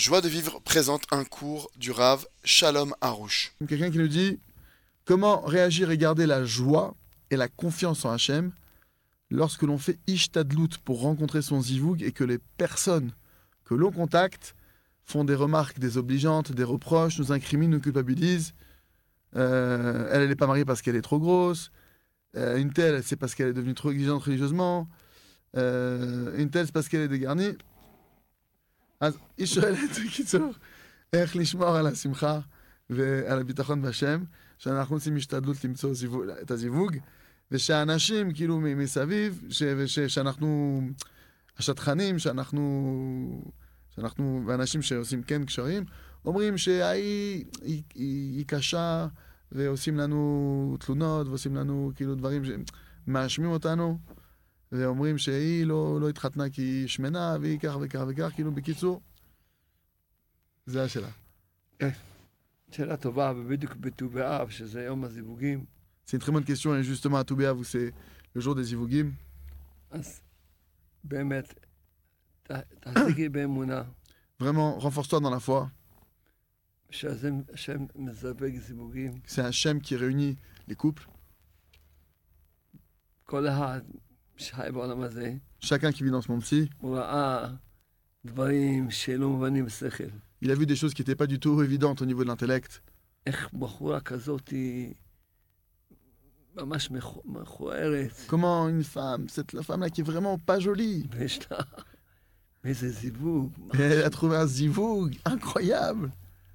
Joie de vivre présente un cours du Rav Shalom Harouche. Quelqu'un qui nous dit comment réagir et garder la joie et la confiance en Hachem lorsque l'on fait ishtadlout pour rencontrer son zivoug et que les personnes que l'on contacte font des remarques désobligeantes, des reproches, nous incriminent, nous culpabilisent. Elle n'est pas mariée parce qu'elle est trop grosse. Une telle, c'est parce qu'elle est devenue trop exigeante religieusement. Une telle, c'est parce qu'elle est dégarnie. אז היא שואלת, בקיצור, איך לשמור על השמחה ועל הביטחון בהשם, שאנחנו עושים השתדלות למצוא את הזיווג, ושאנשים כאילו מסביב, שאנחנו השטחנים, שאנחנו ואנשים שעושים כן קשרים, אומרים שהיא היא קשה, ועושים לנו תלונות, ועושים לנו כאילו דברים שמאשמים אותנו, ואומרים שהיא לא התחתנה כי היא שמנה, והיא כך וכך וכך, כאילו בקיצור, זה השאלה. שאלה טובה, ובדיוק בט"ו באב, שזה יום הזיווגים. C'est une très bonne question, et justement à ט"ו באב, où c'est le jour des זיווגים. אז באמת, תחזיקי באמונה. Vraiment, renforce-toi dans la foi. שהשם מזווג זיווגים. C'est Hachem qui réunit les couples. כל אחד שחי בעולם הזה, Chacun qui vit dans ce monde-ci, הוא ראה דברים שלא מובנים בשכל. il a vu des choses qui n'étaient pas du tout évidentes au niveau de l'intellect. איך בחורה כזאת היא ממש מכוערת. Comment une femme, la femme-là qui est vraiment pas jolie, ויש לה איזה זיווג. et elle a trouvé un zivoug incroyable.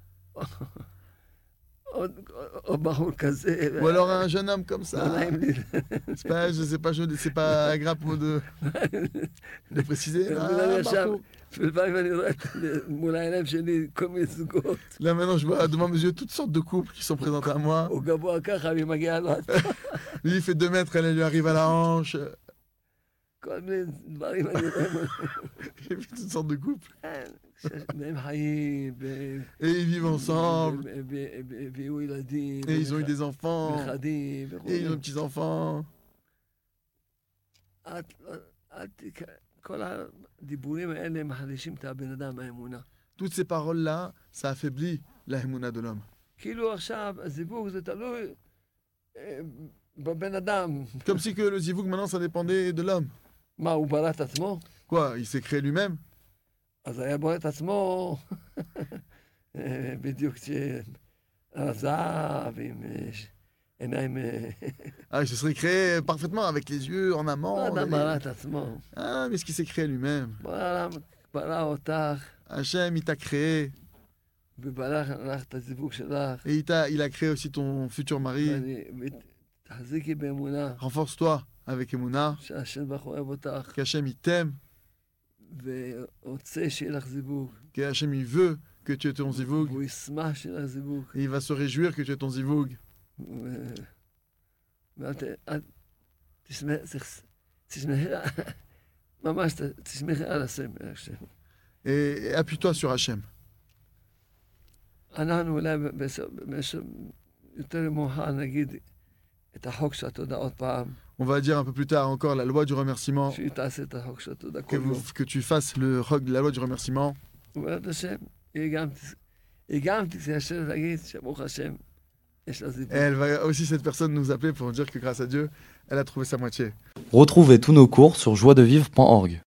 או בחור כזה. Ou alors un jeune homme comme לא ça. נעים לי. C'est pas agréable pour de préciser. אני עכשיו, Marco. לפעמים אני רואה מול העיניים שלי כל מיני זוגות. Là maintenant je vois devant mes yeux toutes sortes de couples qui sont présentés à moi. הוא גבוה ככה, והיא מגיעה לו. Lui il fait 2 mètres, elle lui arrive à la hanche. כל מיני דברים אני רואה. J'ai vu toutes sortes de couples. והם חיים, Et ils vivent ensemble. והביאו ילדים. Et ils ont eu des enfants. נכדים. Et ils ont des petits-enfants. כל הדיבורים האלה מחלישים את הבן אדם מהאמונה. Toutes ces paroles-là, ça affaiblit la émouna de l'homme. כאילו עכשיו הזיווג זה תלוי בבן אדם. Comme si que le zivoug maintenant ça dépendait de l'homme. מה, הוא ברא את עצמו? Quoi, il s'est créé lui-même? אז היה בורא את עצמו בדיוק כשעזב עם עיניים... Ah, il se serait créé parfaitement avec les yeux en amont. האדם ברא את עצמו. Ah, mais ce qu'il s'est créé lui-même. ברא אותך, Hachem, il t'a créé. וברא לך את הזיווג שלך. Et il a créé aussi ton futur mari. תחזיקי באמונה Renforce-toi avec Emouna. שהשם ברוך הוא אוהב אותך, Qu'Hachem, il t'aime. ורוצה שיהיה לך זיווג, Qu'Hachem, il veut que tu aies ton zivoug. והוא ישמח שיהיה לך זיווג. Et il va se réjouir que tu aies ton zivoug. תשמחי, ממש תשמחי על השם. Et appuie-toi sur Hachem. אנחנו אולי יותר מאוחר נגיד את החוק של התודה עוד פעם, On va dire un peu plus tard encore la loi du remerciement. שהיא תעשה את החוק של התודה כל יום. Que tu fasses la loi du remerciement. ובעזרת השם, היא גם תתיישר להגיד שברוך השם, יש לה זיווג. Elle va aussi, cette personne, nous appeler pour dire que grâce à Dieu, elle a trouvé sa moitié. Retrouvez tous nos cours sur joiedevivre.org.